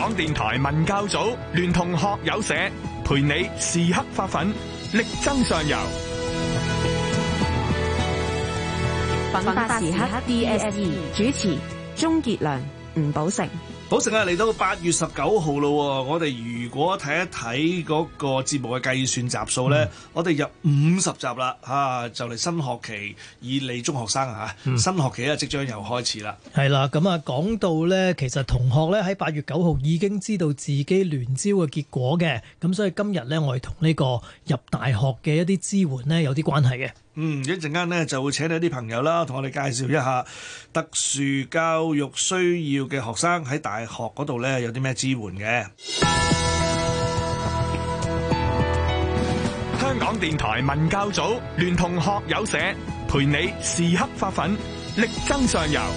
港電台文教組聯同學友社，陪你時刻發奮，力爭上游。 奮發時刻 DSE 主持鍾傑良、吳寶成。 寶成啊，嚟到8月19號咯，我哋如果睇一睇嗰個節目嘅計算集數咧，我哋入50集啦嚇，就嚟新學期以嚟中學生啊嚇，新學期啊即將又開始啦。 係啦，咁啊講到咧，其實同學咧喺8月9號已經知道自己聯招嘅結果嘅，咁所以今日咧我哋同呢個入大學嘅一啲支援咧有啲關係嘅。 一陣間呢就會請你啲朋友啦，同我哋介紹一下特殊教育需要嘅學生喺大學嗰度呢有啲咩支援嘅。 香港電台文教組聯同學友社，陪你時刻發奮，力爭上游。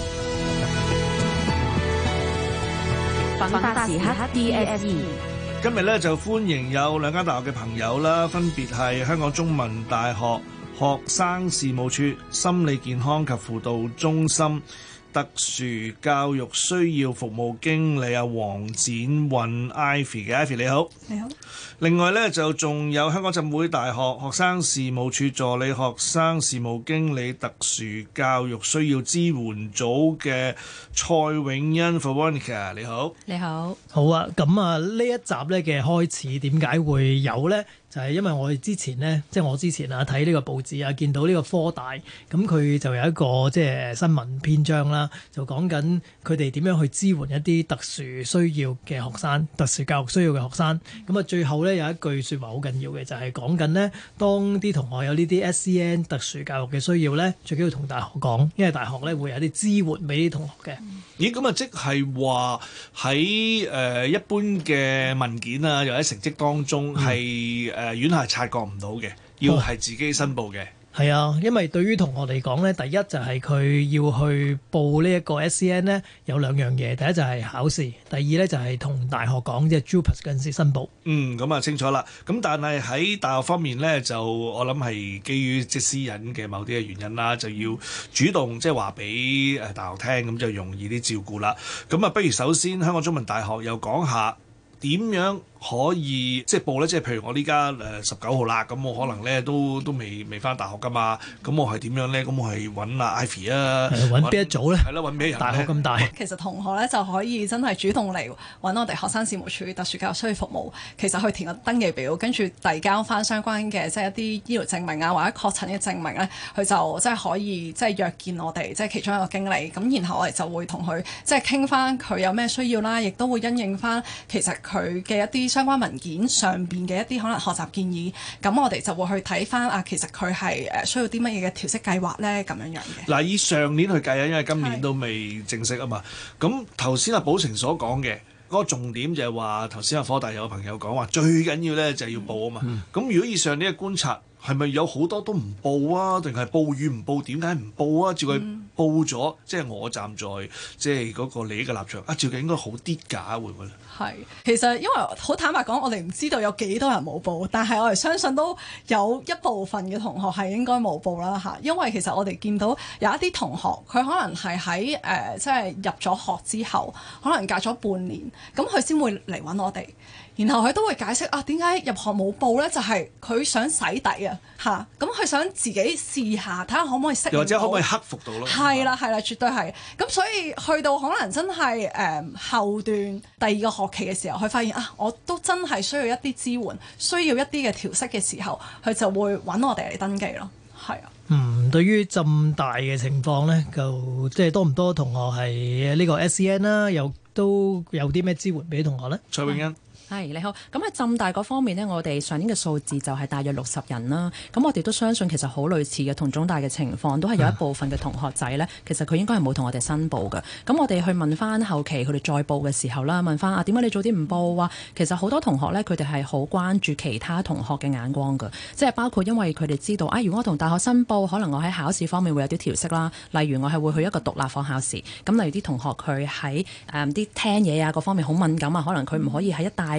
奮發時刻 DSE。 今日呢就歡迎有兩間大學嘅朋友啦，分別係香港中文大學學生事務處心理健康及輔導中心特殊教育需要服務經理黃展韻 Ivy 嘅 Ivy， 你好。 你好。 另外呢，就仲有香港浸會大學學生事務處助理學生事務經理特殊教育需要支援組嘅蔡永欣 Veronica， 你好。 你好。 好啊，咁啊呢一集咧嘅開始點解會有呢？就係因為我哋之前呢，即係我之前啊睇呢個報紙啊，見到呢個科大咁佢就有一個即係新聞篇章啦，就講緊佢哋點樣去支援一啲特殊需要嘅學生、特殊教育需要嘅學生。咁啊最後呢，有一句説話好緊要嘅，就係講緊呢：當啲同學有呢啲 SEN 特殊教育嘅需要呢，最緊要同大學講，因為大學呢會有啲支援俾啲同學嘅。 咦，咁啊即係話喺一般嘅文件啊，又喺成績當中係院校係察覺唔到嘅，要係自己申報嘅。 係啊，因為對於同學嚟講呢，第一就係佢要去報呢一個 SEN 呢，有兩樣嘢，第一就係考試，第二呢就係同大學講，即係 JUPAS 嗰陣時申報。咁啊清楚啦。咁但係喺大學方面呢，就我諗係基於即私隱嘅某啲嘅原因啦，就要主動即係話俾大學聽，咁就容易啲照顧啦。咁啊，不如首先香港中文大學又講下點樣可以即係報咧？即係譬如我呢家19號啦，咁我可能咧都未返大學噶嘛，咁我係點樣咧？咁我係揾阿 Ivy 啊， 揾邊一組咧？ 係啦，揾咩人？ 大學咁大， 其實同學咧就可以真係主動嚟揾我哋學生事務處特殊教育需要服務，其實去填個登記表，跟住遞交翻相關嘅即係一啲醫療證明啊，或者確診嘅證明咧，佢就即係可以即係約見我哋即係其中一個經理，咁然後我哋就會同佢即係傾翻佢有咩需要啦，亦都會因應翻其實佢嘅一啲相關文件上邊嘅一啲可能學習建議，咁我哋就會去睇翻啊，其實佢係需要啲乜嘢嘅調適計劃咧，咁樣嘅。 嗱，以上年去計啊，因為今年都未正式啊嘛。咁頭先阿寶成所講嘅嗰個重點就係話，頭先阿科大有個朋友講話，最緊要咧就係要報啊嘛。咁如果以上年嘅觀察，係咪有好多都唔報啊？定係報與唔報？點解唔報啊？照佢報咗，即係我站在即係嗰個利益嘅立場啊，照佢應該好啲㗎，會唔會咧？ 係，其實因為好坦白講，我哋唔知道有幾多人冇報，但係我哋相信都有一部分嘅同學係應該冇報啦嚇。因為其實我哋見到有一啲同學，佢可能係喺即係入咗學之後，可能隔咗半年，咁佢先會嚟揾我哋。然後佢都會解釋啊，點解入學冇報呢？就係佢想洗底啊嚇，咁佢想自己試下，睇下可唔可以適應到， 又或者可唔可以克服到咯？ 係啦，絕對係。咁所以去到可能真係後段第二個學期嘅時候，佢發現啊，我都真係需要一啲支援，需要一啲嘅調適嘅時候，佢就會揾我哋嚟登記咯。係啊。 對於浸大嘅情況呢，就即係多唔多同學係呢個 SEN 啦，又都有啲咩支援俾同學呢？ 蔡永欣。 係，你好，咁喺浸大嗰方面呢，我哋上年嘅數字就係大約60人啦。咁我哋都相信其實好類似嘅，同中大嘅情況都係有一部分嘅同學仔呢，其實佢應該係冇同我哋申報嘅。咁我哋去問翻後期佢哋再報嘅時候啦，問翻啊，點解你早啲唔報啊？其實好多同學呢，佢哋係好關注其他同學嘅眼光嘅，即係包括因為佢哋知道啊，如果我同大學申報，可能我喺考試方面會有啲調適啦。例如我係會去一個獨立課考試，咁例如啲同學佢喺啲聽嘢啊各方面好敏感啊，可能佢唔可以喺一大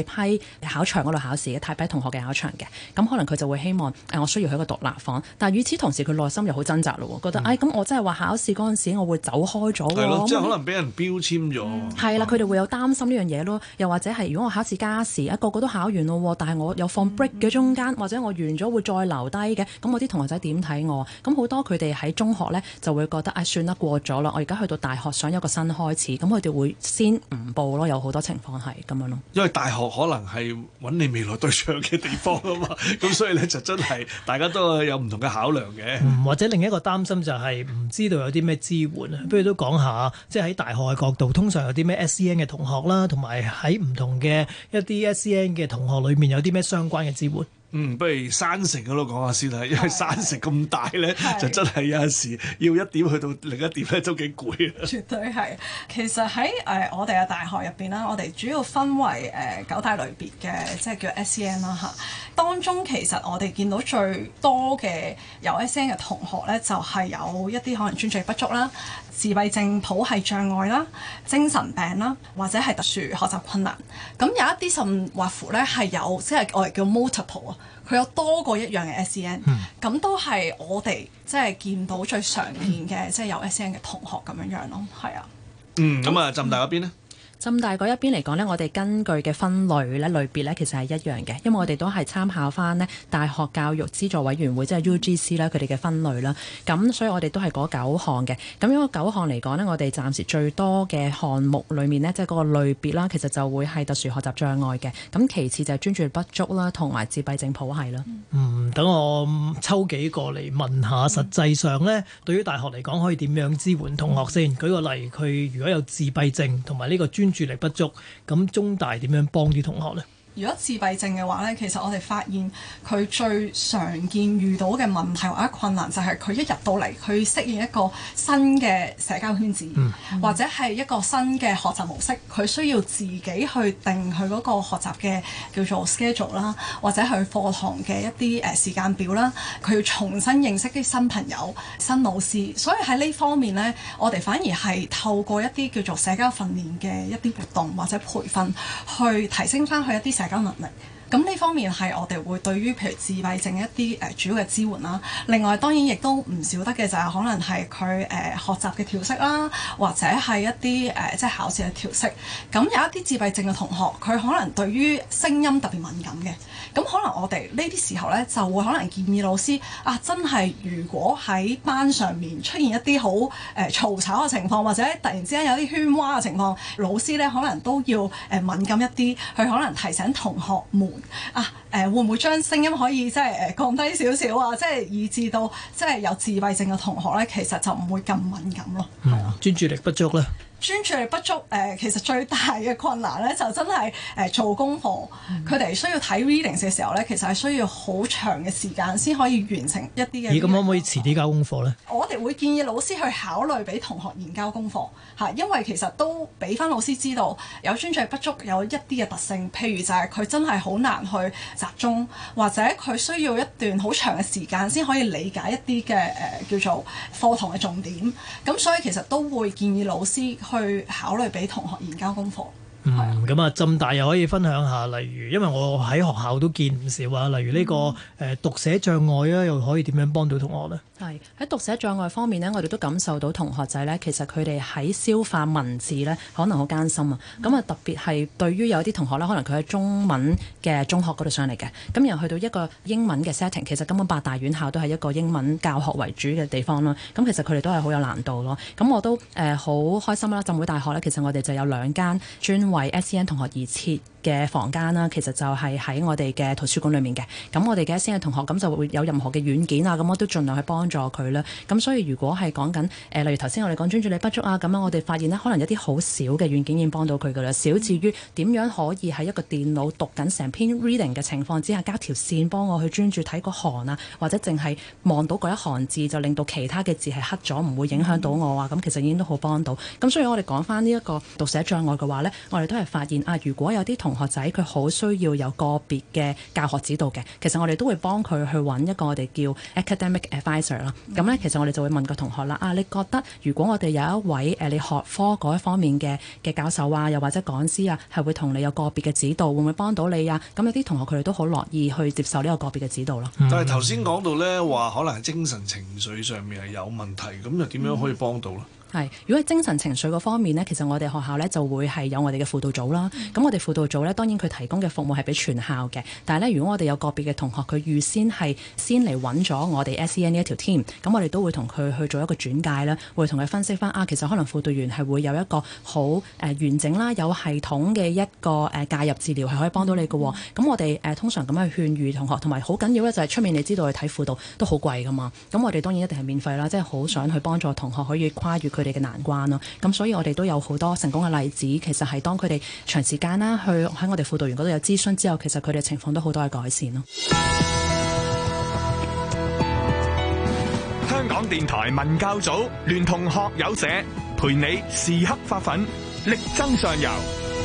批考場嗰度考試嘅，大批同學嘅考場嘅，咁可能佢就會希望我需要去一個獨立房，但係與此同時佢內心又好掙扎咯，覺得咁我真係話考試嗰陣時我會走開咗喎， 係咯，即係可能俾人標籤咗。 係啦，佢哋會有擔心呢樣嘢咯，又或者係如果我考試加時，個個都考完咯，但係我有放 break 嘅中間，或者我完咗會再留低嘅，咁我啲同學仔點睇我？咁好多佢哋喺中學呢就會覺得算啦，過咗啦，我而家去到大學想有個新開始，咁佢哋會先唔報咯，有好多情況係咁樣咯。 因為大學可能係揾你未來對象嘅地方啊嘛，咁所以咧就真係大家都有唔同嘅考量嘅。 或者另一個擔心就係唔知道有啲咩支援啊，不如都講下，即係喺大學嘅角度，通常有啲咩 SEN 嘅同學啦，同埋喺唔同嘅一啲 SEN 嘅同學裏面有啲咩相關嘅支援？ 不如山城嗰度講下先啦，因為山城咁大咧，就真係有陣時要一點去到另一點咧，都幾攰啊！ 絕對係。其實喺我哋嘅大學入邊啦，我哋主要分為9大類別嘅，即係叫 SEN 啦嚇。當中其實我哋見到最多嘅有 SEN 嘅同學咧，就係有一啲可能專注力不足啦、自閉症譜系障礙啦、精神病啦，或者係特殊學習困難。咁有一啲甚或乎咧係有，即係我哋叫 multiple 啊，佢有多過一樣嘅 SEN，咁都係我哋即係見到最常見嘅，即係有 SEN 嘅同學咁樣樣咯，係啊。 咁啊，浸大嗰邊咧？ 浸大嗰一邊嚟講呢，我哋根據嘅分類咧類別咧，其實係一樣嘅，因為我哋都係參考翻呢大學教育資助委員會即係 UGC 啦，佢哋嘅分類啦。咁所以我哋都係嗰9項嘅。咁因為9項嚟講呢，我哋暫時最多嘅項目裡面呢，即係嗰個類別啦，其實就會係特殊學習障礙嘅。咁其次就係專注力不足啦，同埋自閉症譜系啦。 等我抽幾個嚟問下，實際上呢，對於大學嚟講可以點樣支援同學先？舉個例，佢如果有自閉症同埋呢個專注力不足，咁中大點樣幫啲同學呢？ 如果自閉症嘅話咧，其實我哋發現佢最常見遇到嘅問題或者困難就係佢一入到嚟，佢適應一個新嘅社交圈子，或者係一個新嘅學習模式，佢需要自己去定佢嗰個學習嘅叫做 schedule 啦，或者佢課堂嘅一啲時間表啦，佢要重新認識啲新朋友、新老師，所以喺呢方面咧，我哋反而係透過一啲叫做社交訓練嘅一啲活動或者培訓，去提升翻佢一啲社交能力。咁呢方面係我哋會對於譬如自閉症一啲主要嘅支援啦。另外當然亦都唔少得嘅就係可能係佢學習嘅調適啦，或者係一啲即係考試嘅調適。咁有一啲自閉症嘅同學，佢可能對於聲音特別敏感嘅。咁可能我哋呢啲時候咧，就會可能建議老師真係如果喺班上面出現一啲好嘈吵嘅情況，或者突然之間有啲喧嘩嘅情況，老師咧可能都要敏感一啲，去可能提醒同學們會唔會將聲音可以即係降低少少啊？即係以至到即係有自閉症嘅同學咧，其實就唔會咁敏感咯。 專注力不足咧。 專注力不足其實最大嘅困難咧，就真係做功課，佢哋需要睇 readings 嘅時候咧，其實係需要好長嘅時間先可以完成一啲嘅。 咁可唔可以遲啲交功課咧？ 我哋會建議老師去考慮俾同學延交功課嚇，因為其實都俾翻老師知道有專注力不足有一啲嘅特性，譬如就係佢真係好難去集中，或者佢需要一段好長嘅時間先可以理解一啲嘅叫做課堂嘅重點，咁所以其實都會建議老師去考慮俾同學延交功課。 咁啊，浸大又可以分享下，例如因為我喺學校都見唔少啊，例如呢個讀寫障礙啊，又可以點樣幫到同學呢？ 係喺讀寫障礙方面呢，我哋都感受到同學仔呢，其實佢哋喺消化文字呢，可能好艱辛啊。咁啊，特別係對於有啲同學呢，可能佢喺中文嘅中學嗰度上嚟嘅，咁然後去到一個英文嘅 setting， 其實根本8大院校都係一個英文教學為主嘅地方啦。咁其實佢哋都係好有難度咯。咁我都好開心啦！浸會大學呢，其實我哋就有2間專為 SEN 同學而設嘅房間啦，其實就係喺我哋嘅圖書館裏面嘅。咁我哋嘅 SEN 同學咁就會有任何嘅軟件啊，咁我都盡量去幫助佢啦。咁所以如果係講緊例如頭先我哋講專注力不足啊，咁樣我哋發現呢，可能有啲好少嘅軟件已經幫到佢噶啦，少至於點樣可以喺一個電腦讀緊成篇 reading 嘅情況之下，加條線幫我去專注睇嗰行啊，或者淨係望到嗰一行字就令到其他嘅字係黑咗，唔會影響到我啊。咁其實已經都好幫到。咁所以我哋講翻呢一個讀寫障礙嘅話呢，我哋都係發現如果有啲同同學仔佢好需要有個別嘅教學指導嘅，其實我哋都會幫佢去揾一個我哋叫 academic advisor 啦。咁咧其實我哋就會問個同學啦，你覺得如果我哋有一位你學科嗰一方面嘅教授啊，又或者講師啊，係會同你有個別嘅指導，會唔會幫到你啊？咁有啲同學佢哋都好樂意去接受呢個個別嘅指導咯。 但係頭先講到咧話，可能係精神情緒上面係有問題，咁又點樣可以幫到咧？ 係，如果係精神情緒嗰方面呢，其實我哋學校呢就會係有我哋嘅輔導組啦。咁我哋輔導組呢，當然佢提供嘅服務係俾全校嘅。但係呢，如果我哋有個別嘅同學，佢預先嚟揾咗我哋 SEN 呢一條 team，咁我哋都會同佢去做一個轉介啦，會同佢分析翻其實可能輔導員係會有一個好完整啦、有系統嘅一個介入治療係可以幫到你嘅。咁我哋通常咁樣去勸喻同學，同埋好緊要呢，就係出面你知道去睇輔導都好貴噶嘛。咁我哋當然一定係免費啦，即係好想去幫助同學可以跨越佢哋嘅難關咯，咁所以我哋都有好多成功嘅例子。其實係當佢哋長時間啦，去喺我哋輔導員嗰度有諮詢之後，其實佢哋情況都好多嘅改善咯。 香港電台文教組聯同學友社，陪你時刻發奮，力爭上游。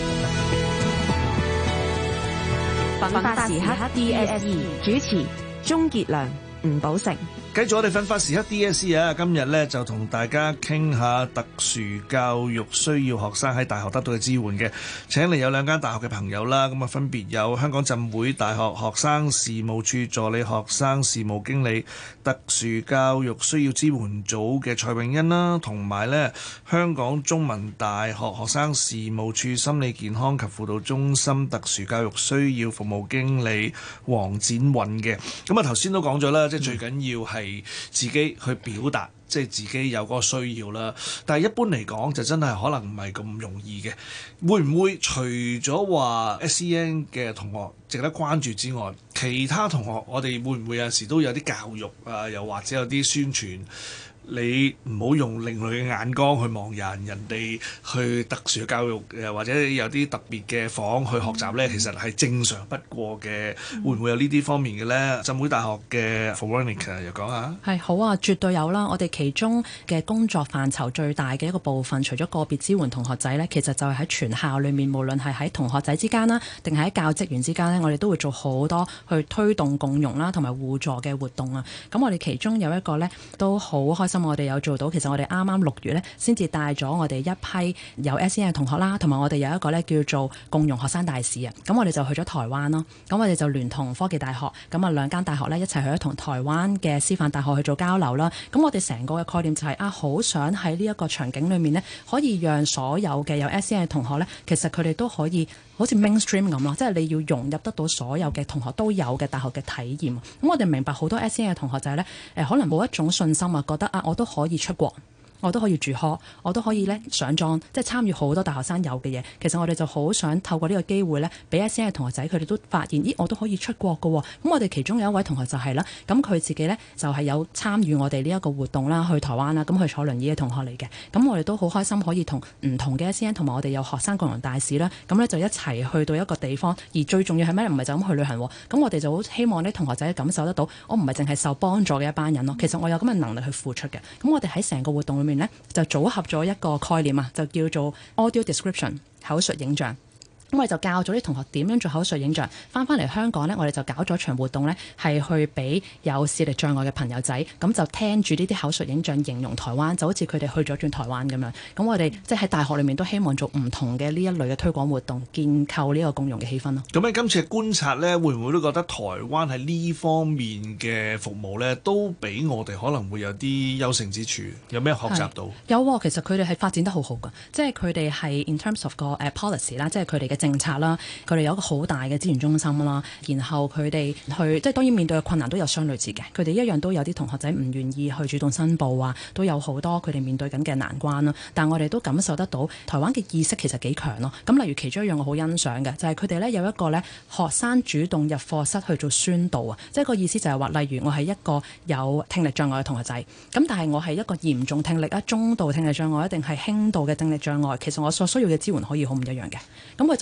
奮發時刻 DSE 主持鍾傑良、吳寶成。 繼續我哋奮發時刻 DSE 啊！今日咧就同大家傾下特殊教育需要學生喺大學得到嘅支援嘅。請嚟有兩間大學嘅朋友啦，咁啊分別有香港浸會大學學生事務處助理學生事務經理特殊教育需要支援組嘅蔡永欣啦，同埋咧香港中文大學學生事務處心理健康及輔導中心特殊教育需要服務經理黃展韻嘅。咁啊頭先都講咗啦，即係最緊要係自己去表達，即係自己有嗰個需要啦。但係一般嚟講就真係可能唔係咁容易嘅。會唔會除咗話 SEN 嘅同學值得關注之外，其他同學我哋會唔會有時都有啲教育啊，又或者有啲宣傳？你唔好用另類嘅眼光去望人哋去特殊教育或者有啲特別嘅房去學習呢，其實係正常不過嘅。會唔會有呢啲方面嘅呢？浸會大學嘅 Veronica 又講下。 係好啊，絕對有啦。我哋其中嘅工作範疇最大嘅一個部分，除咗個別支援同學仔呢，其實就係喺全校裏面，無論係喺同學仔之間啦，定係喺教職員之間呢，我哋都會做好多去推動共融啦，同埋互助嘅活動啊。咁我哋其中有一個呢，都好開心。我哋有做到，其實我哋啱啱6月呢先至帶咗我哋一批有 SEN 嘅同學啦，同埋我哋有一個呢叫做共融學生大使啊。咁我哋就去咗台灣咯，咁我哋就聯同科技大學，咁啊兩間大學呢一齊去咗同台灣嘅師範大學去做交流啦。咁我哋成個嘅概念就係好想喺呢一個場景裏面呢，可以讓所有嘅有 SEN 嘅同學呢，其實佢哋都可以好似 mainstream 咁咯，即係你要融入得到所有嘅同學都有嘅大學嘅體驗。咁我哋明白好多 SEN 嘅同學仔呢，可能冇一種信心啊，覺得我都可以出國，我都可以住 hall， 我都可以咧上莊，即係參與好多大學生有嘅嘢。其實我哋就好想透過呢個機會咧，俾 SEN 嘅同學仔佢哋都發現，咦，我都可以出國㗎喎。咁我哋其中有一位同學就係啦，咁佢自己咧就係有參與我哋呢一個活動啦，去台灣啦，咁佢坐輪椅嘅同學嚟嘅。咁我哋都好開心可以同唔同嘅 SEN 同埋我哋有學生共融大使啦，咁咧就一齊去到一個地方。而最重要係咩？唔係就咁去旅行喎。咁我哋就好希望啲同學仔感受得到，我唔係淨係受幫助嘅一班人咯。其實我有咁嘅能力去付出嘅。咁我哋喺成個活動裏面咧，就組合咗一個概念啊，就叫做 audio description 口述影像。咁我哋就教咗啲同學點樣做口述影像，翻嚟香港呢，我哋就搞咗場活動呢，係去俾有視力障礙嘅朋友仔，咁就聽住呢啲口述影像形容台灣，就好似佢哋去咗轉台灣咁樣。咁我哋即係喺大學裏面都希望做唔同嘅呢一類嘅推廣活動，建構呢個共融嘅氣氛咯。 咁喺今次嘅觀察呢，會唔會都覺得台灣喺呢方面嘅服務呢，都比我哋可能會有啲優勝之處？有咩學習到？ 有喎，其實佢哋係發展得好好㗎，即係佢哋係 in terms of 個policy 啦，即係佢哋嘅政策啦，佢哋有一個好大嘅資源中心啦，然後佢哋去即係當然面對嘅困難都有相類似嘅，佢哋一樣都有啲同學仔唔願意去主動申報啊，都有好多佢哋面對緊嘅難關啦。但我哋都感受得到台灣嘅意識其實幾強咯。咁例如其中一樣我好欣賞嘅就係佢哋咧有一個咧學生主動入課室去做宣導啊，即係個意思就係話，例如我係一個有聽力障礙嘅同學仔，咁但係我係一個嚴重聽力啊、中度聽力障礙一定係輕度嘅聽力障礙，其實我所需要嘅支援可以好唔一樣嘅。咁佢就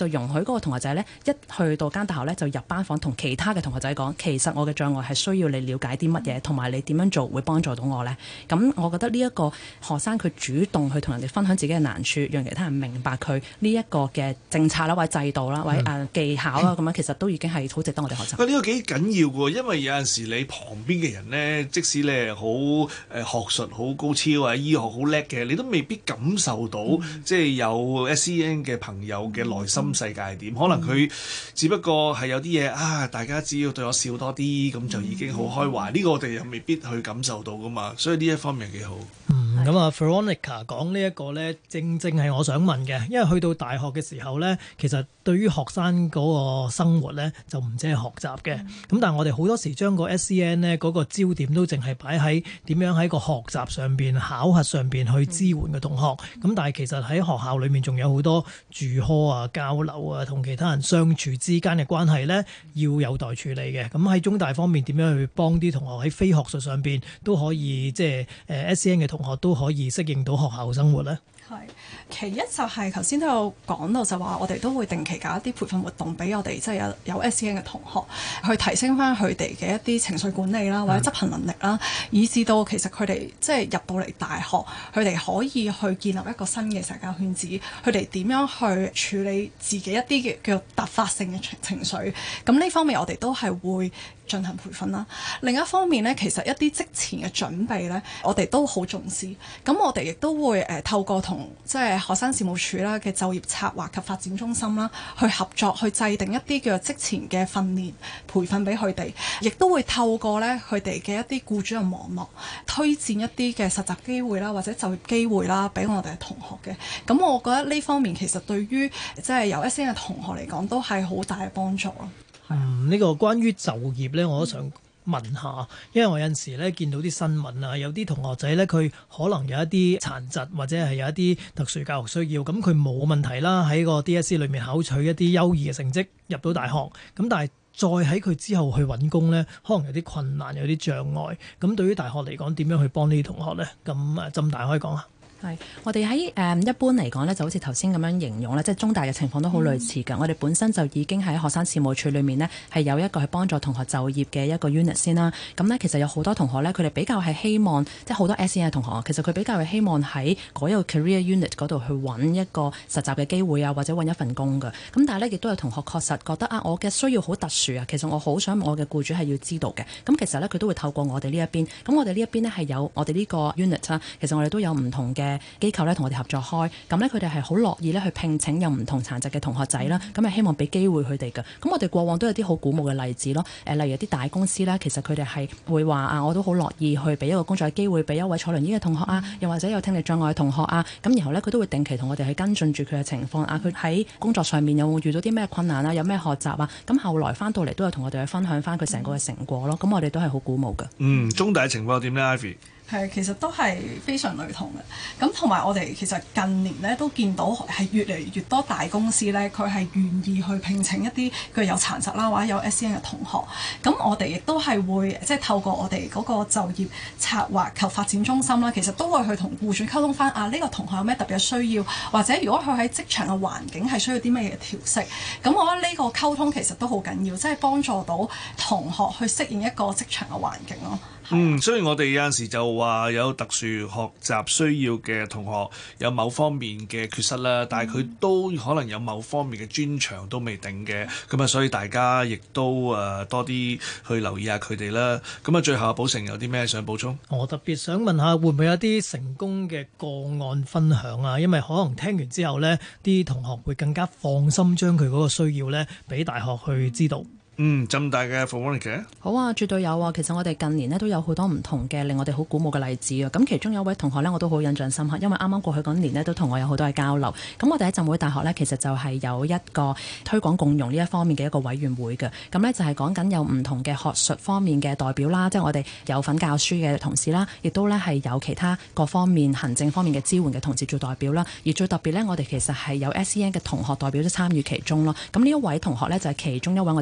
就容許嗰個同學仔呢，一去到間大學呢，就入班房同其他嘅同學仔講，其實我嘅障礙係需要你了解啲乜嘢，同埋你點樣做會幫助到我呢。咁我覺得呢一個學生佢主動去同人哋分享自己嘅難處，讓其他人明白佢呢一個嘅政策啦，或者制度啦，或者技巧啦，咁樣其實都已經係好值得我哋學習。 呢個幾緊要喎，因為有陣時你旁邊嘅人呢，即使你係好學術好高超啊，醫學好叻嘅，你都未必感受到即係有 SEN 嘅朋友嘅內心世界係點。可能佢只不過係有啲嘢啊，大家只要對我笑多啲，咁就已經好開懷。呢個我哋又未必去感受到噶嘛，所以呢一方面幾好。 咁啊 Veronica 講呢一個呢，正係我想問嘅，因為去到大學嘅時候呢，其實對於學生嗰個生活呢，就唔止係學習嘅。咁但係我哋好多時將個 SEN 呢嗰個焦點都淨係擺喺點樣喺個學習上邊、考核上邊去支援嘅同學。咁但係其實喺學校裏面仲有好多住科啊、交流啊、同其他人相處之間嘅關係呢，要有待處理嘅。咁喺中大方面點樣去幫啲同學喺非學術上邊都可以即係SEN 嘅同學都可以適應到學校生活呢？ 係，其一就係頭先都有講到，就話我哋都會定期搞一啲培訓活動俾我哋即係有 SEN 嘅同學，去提升翻佢哋嘅一啲情緒管理啦，或者執行能力啦，以至到其實佢哋即係入到嚟大學，佢哋可以去建立一個新嘅社交圈子，佢哋點樣去處理自己一啲嘅叫突發性嘅情緒，咁呢方面我哋都係會進行培訓啦。另一方面呢，其實一啲職前嘅準備呢，我哋都好重視。咁我哋亦都會透過同即係學生事務處啦嘅就業策劃及發展中心啦，去合作去制定一啲叫做職前嘅訓練培訓俾佢哋，亦都會透過呢佢哋嘅一啲僱主嘅網絡，推薦一啲嘅實習機會啦，或者就業機會啦，俾我哋嘅同學嘅。咁我覺得呢方面其實對於即係有 SEN 嘅同學嚟講，都係好大嘅幫助咯。 呢個關於就業呢，我都想問下，因為我有陣時咧見到啲新聞啊，有啲同學仔咧佢可能有一啲殘疾或者係有一啲特殊教育需要，咁佢冇問題啦，喺個 DSE 裏面考取一啲優異嘅成績入到大學，咁但係再喺佢之後去揾工呢，可能有啲困難，有啲障礙。咁對於大學嚟講，點樣去幫呢啲同學呢？咁浸大可以講下。 係，我哋喺一般嚟講呢，就好似頭先咁樣形容咧，即係中大嘅情況都好類似嘅。我哋本身就已經喺學生事務處裏面呢，係有一個去幫助同學就業嘅一個 unit 先啦。咁呢，其實有好多同學呢，佢哋比較係希望，即係好多 SEN 嘅同學，其實佢比較係希望喺嗰一個 career unit 嗰度去揾一個實習嘅機會啊，或者揾一份工嘅。咁但係呢，亦都有同學確實覺得啊，我嘅需要好特殊啊，其實我好想我嘅僱主係要知道嘅。咁其實呢，佢都會透過我哋呢一邊。咁我哋呢一邊呢，係有我哋呢個 unit 啦。其實我哋都有唔同嘅機構咧同我哋合作開，咁咧佢哋係好樂意咧去聘請有唔同殘疾嘅同學仔啦，咁係希望俾機會佢哋嘅。咁我哋過往都有啲好鼓舞嘅例子咯，例如啲大公司啦，其實佢哋係會話啊，我都好樂意去俾一個工作嘅機會俾一位坐輪椅嘅同學啊，又或者有聽力障礙嘅同學啊，咁然後咧佢都會定期同我哋去跟進住佢嘅情況啊，佢喺工作上面有冇遇到啲咩困難啊，有咩學習啊，咁後來翻到嚟都有同我哋去分享翻佢成個嘅成果咯，咁我哋都係好鼓舞嘅。 中大嘅情況點咧 Ivy？ 係，其實都係非常類同嘅。咁同埋我哋其實近年咧都見到係越嚟越多大公司咧，佢係願意去聘請一啲佢有殘疾啦或者有 SEN 嘅同學。咁我哋亦都係會即係透過我哋嗰個就業策劃及發展中心啦，其實都會去同僱主溝通翻啊，呢個同學有咩特別嘅需要，或者如果佢喺職場嘅環境係需要啲咩嘅調適。咁我覺得呢個溝通其實都好緊要，即係幫助到同學去適應一個職場嘅環境咯。 所以我哋有陣時就話有特殊學習需要嘅同學有某方面嘅缺失啦，但係佢都可能有某方面嘅專長都未定嘅，咁啊，所以大家亦都多啲去留意下佢哋啦。咁啊，最後寶成有啲咩想補充？ 我特別想問下，會唔會有啲成功嘅個案分享啊？因為可能聽完之後呢，啲同學會更加放心將佢嗰個需要呢俾大學去知道。 浸大嘅 Veronica 好啊，絕對有啊！其實我哋近年呢都有好多唔同嘅令我哋好鼓舞嘅例子啊！咁其中有一位同學呢，我都好印象深刻，因為啱啱過去嗰年呢，都同我有好多嘅交流。咁我哋喺浸會大學呢，其實就係有一個推廣共融呢一方面嘅一個委員會嘅。咁呢，就係講緊有唔同嘅學術方面嘅代表啦，即係我哋有份教書嘅同事啦，亦都呢係有其他各方面行政方面嘅支援嘅同事做代表啦。而最特別呢，我哋其實係有 SEN 嘅同學代表都參與其中咯。咁呢一位同學呢，就係其中一位我哋嘅學生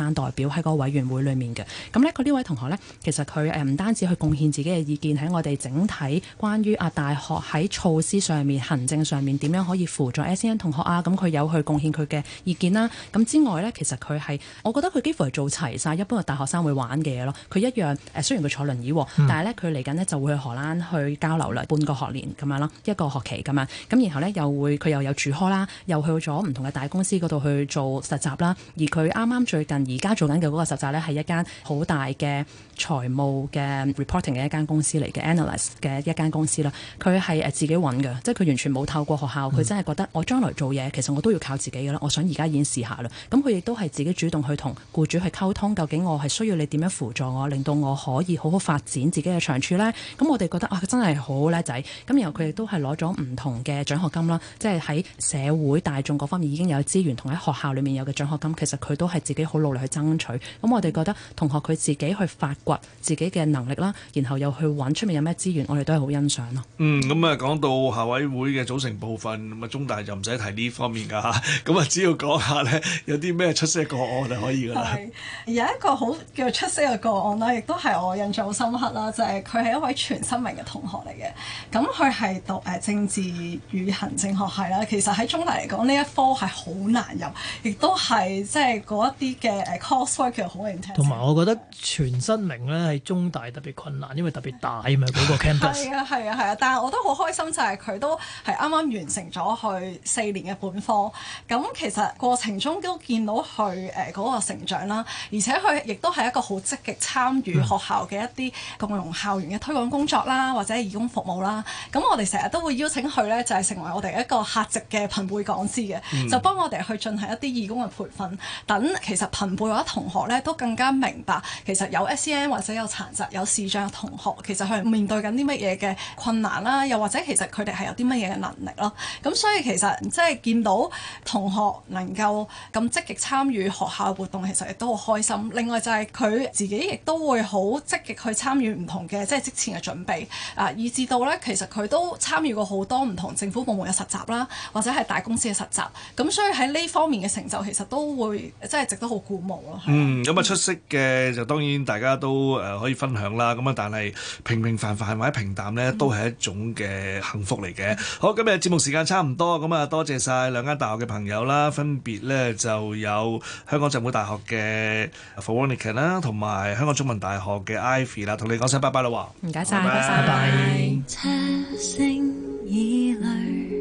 班代表喺個委員會裏面嘅。咁咧，佢呢位同學咧，其實佢唔單止去貢獻自己嘅意見喺我哋整體關於大學喺措施上面、行政上面點樣可以輔助 SEN 同學啊，咁佢有去貢獻佢嘅意見啦。咁之外咧，其實佢係，我覺得佢幾乎係做齊晒一般嘅大學生會玩嘅嘢咯。佢一樣雖然佢坐輪椅，但係咧佢嚟緊咧就會去荷蘭去交流啦，半個學年咁樣咯，一個學期咁樣。咁然後咧佢又有主科啦，又去咗唔同嘅大公司嗰度去做實習啦。而佢啱啱最近而家做緊嘅嗰個實習咧，係一間好大嘅財務嘅 reporting 嘅一間公司嚟嘅 analyst 嘅一間公司啦。佢係自己揾嘅，即係佢完全冇透過學校，佢真係覺得我將來做嘢其實我都要靠自己嘅啦。我想而家已經試下啦。咁佢亦都係自己主動去同僱主去溝通，究竟我係需要你點樣輔助我，令到我可以好好發展自己嘅長處呢？咁我哋覺得佢真係好叻仔。咁然後佢亦都係攞咗唔同嘅獎學金啦，即係喺社會大眾嗰方面已經有資源，同喺學校裏面有嘅獎學金，其實佢都係自己好努力去爭取。咁我哋覺得同學佢自己去發掘自己嘅能力啦，然後又去揾出面有咩資源，我哋都係好欣賞咯。 咁啊講到校委會嘅組成部分，咁啊中大就唔使提呢方面㗎嚇，咁啊只要講下咧有啲咩出色個案就可以㗎啦。 有一個好叫做出色嘅個案啦，亦都係我印象好深刻啦，就係佢係一位全新明嘅同學嚟嘅。咁佢係讀政治與行政學系啦。其實喺中大嚟講，呢一科係好難入，亦都係即係嗰一啲嘅coursework 其實好 intense。 同埋我覺得全新明咧喺中大特別困難，因為特別大啊嘛嗰個 campus。 係啊，但係我都好開心，就係佢都係啱啱完成咗佢4年嘅本科。咁其實過程中都見到佢嗰個成長啦，而且佢亦都係一個好積極參與學校嘅一啲共融校園嘅推廣工作啦，或者義工服務啦。咁我哋成日都會邀請佢咧，就係成為我哋一個客席嘅朋輩講師嘅，就幫我哋去進行一啲義工嘅培訓，等其實朋輩或者同學咧都更加明白，其實有 SEN 或者有殘疾、有視障嘅同學，其實佢係面對緊啲乜嘢嘅困難啦，又或者其實佢哋係有啲乜嘢嘅能力咯。咁所以其實即係見到同學能夠咁積極參與學校活動，其實亦都好開心。另外就係佢自己亦都會好積極去參與唔同嘅即係職前嘅準備啊，以至到咧其實佢都參與過好多唔同政府部門嘅實習啦，或者係大公司嘅實習。咁所以喺呢方面嘅成就其實都會即係值得好鼓舞咯。 咁啊出色嘅就當然大家都可以分享啦。咁啊但係平平凡凡或者平淡咧都係一種嘅幸福嚟嘅。好，今日節目時間差唔多，咁啊多謝晒兩間大學嘅朋友啦，分別咧就有香港浸會大學嘅 Veronica 啦，同埋香港中文大學嘅 Ivy 啦，同你講聲拜拜啦喎。 唔該晒， 拜拜。 車聲已累，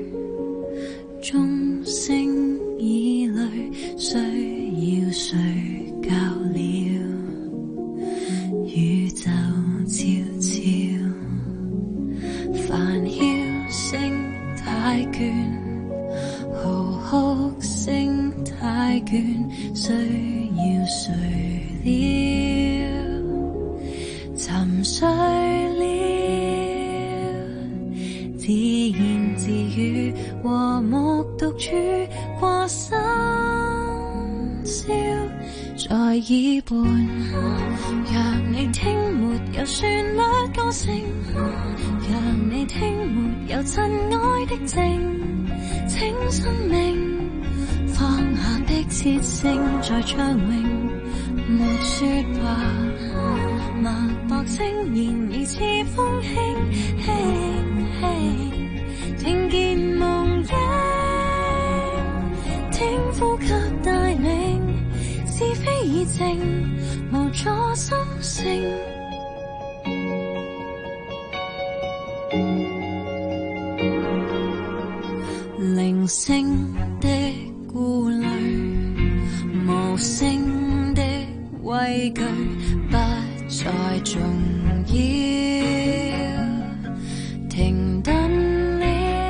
鐘聲已累，需要睡覺了。宇宙悄悄，煩囂聲太倦，嚎哭聲太倦，需要睡了，沉睡了，自言自語和睦獨處過深宵，在耳畔，讓你聽沒有旋律歌聲，讓你聽沒有塵埃的靜，請生命放下的切聲在暢泳，沒說話，脈搏聲然而似風輕輕輕，聽見夢影，聽呼吸帶領，是非已靜，無助心聲。零星的顧慮，無聲的畏懼，不再重要，停頓了。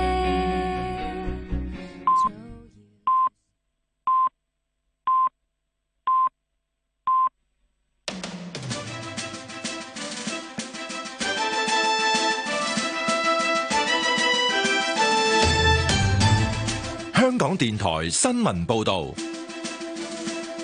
香港電台新聞報導，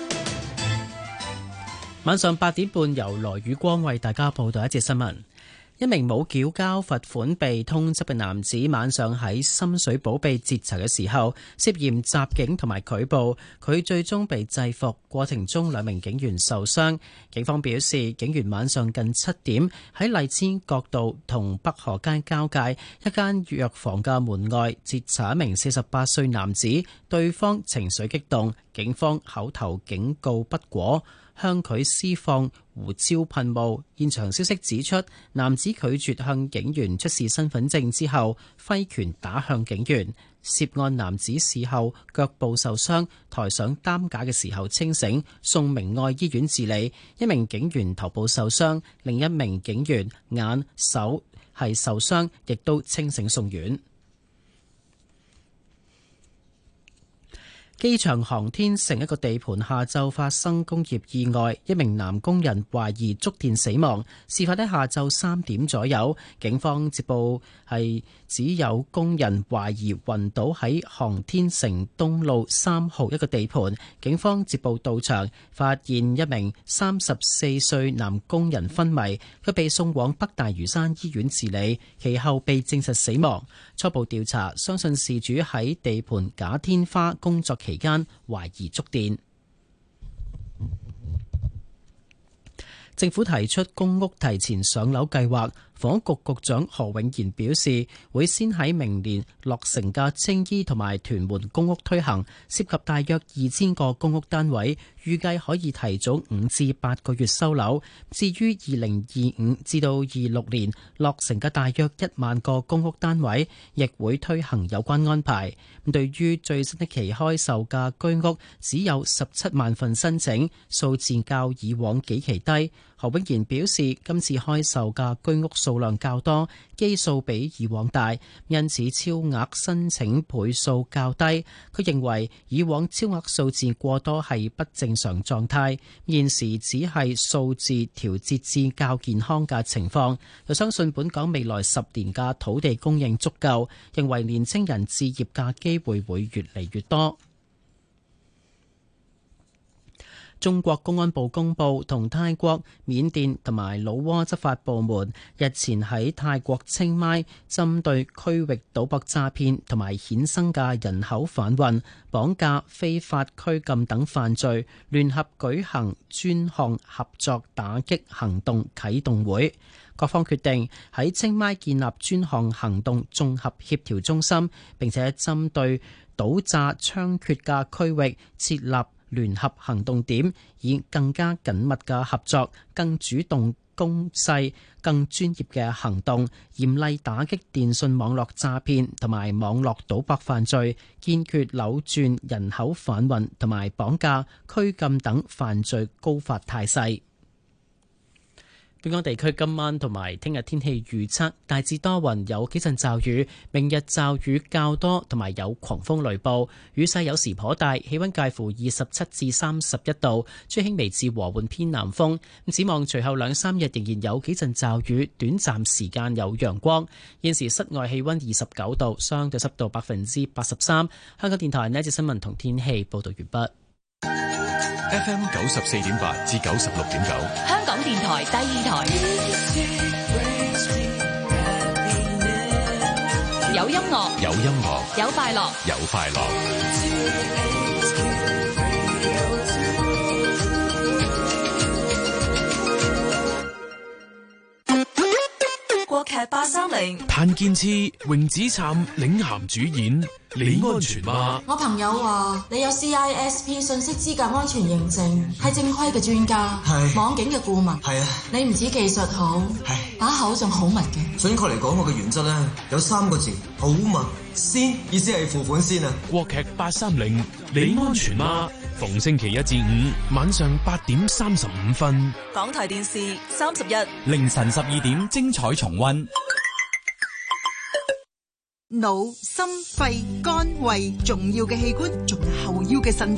晚上8點半由羅宇光為大家報道一節新聞。 一名冇繳交罰款被通緝嘅男子晚上喺深水埗被截查嘅時候，涉嫌襲警同埋拒捕，佢最終被制服，過程中2名警員受傷。警方表示，警員晚上近7點喺荔枝角道同北河街交界一間藥房嘅門外截查一名48歲男子，對方情緒激動，警方口頭警告不果，向佢施放胡椒噴霧。現場消息指出，男子拒絕向警員出示身份證之後，揮拳打向警員。涉案男子事後腳部受傷，抬上擔架嘅時候清醒，送明愛醫院治理。一名警員頭部受傷，另一名警員眼手係受傷，亦都清醒送院。機場航天城一個地盤下晝發生工業意外，一名男工人懷疑觸電死亡。事發喺下晝3點左右，警方接報係只有工人懷疑暈倒喺航天城東路3號一個地盤。警方接報到場，發現一名34歲男工人昏迷，佢被送往北大嶼山醫院治理，其後被證實死亡。初步調查相信事主喺地盤假天花工作期間懷疑觸電。政府提出公屋提前上樓計劃，房屋局局長何永賢表示，會先喺明年落成嘅青衣同埋屯門公屋推行，涉及大約2000個公屋單位，預計可以提早5至8個月收樓。至於2025至到26年落成嘅大約1萬個公屋單位，亦會推行有關安排。對於最新一期開售嘅居屋只有17萬份申請，數字較以往幾期低。何永賢表示，今次開售嘅居屋數量較多，基數比以往大，因此超額申請倍數較低。佢認為以往超額數字過多係不正常狀態，現時只係數字調節至較健康嘅情況。又相信本港未來10年嘅土地供應足夠，認為年青人置業嘅機會會越嚟越多。中國公安部公布，同泰國、緬甸同埋老撾執法部門日前喺泰國清邁針對區域賭博詐騙同埋衍生嘅人口販運、綁架、非法拘禁等犯罪，聯合舉行專項合作打擊行動啟動會。各方決定喺清邁建立專項行動綜合協調中心，並且針對賭詐猖獗嘅區域設立聯合行動點，以更加緊密嘅合作、更主動攻勢、更專業嘅行動，嚴厲打擊電信網絡詐騙同埋網絡賭博犯罪，堅決扭轉人口販運同埋綁架、拘禁等犯罪高發態勢。本港地區今晚同埋聽日天氣預測大致多雲，有幾陣驟雨，明日驟雨較多，同埋有狂風雷暴，雨勢有時頗大，氣溫介乎27至31度，吹輕微至和緩偏南風。展望隨後2-3日仍然有幾陣驟雨，短暫時間有陽光。現時室外氣溫29度，相對濕度83%。香港電台呢一節新聞同天氣報道完畢。 FM 94.8至96.9， 香港電台第2台，有音樂， 有音樂， 有快樂， 有快樂。 國劇830， 潘建次、榮子燦領銜主演，你安全嗎？ 我朋友話你有 CISP 信息資格安全認證，係正規嘅專家，網警嘅顧問。係啊，你唔止技術好，把口仲好密嘅。 準確嚟講，我嘅原則咧有3個字：好密。先意思係付款先啊。 國劇830，你安全嗎？逢星期1至5晚上8點35分， 港台電視31， 凌晨12點精彩重溫。 腦、心、肺、肝、胃，重要嘅器官，仲有後腰嘅腎。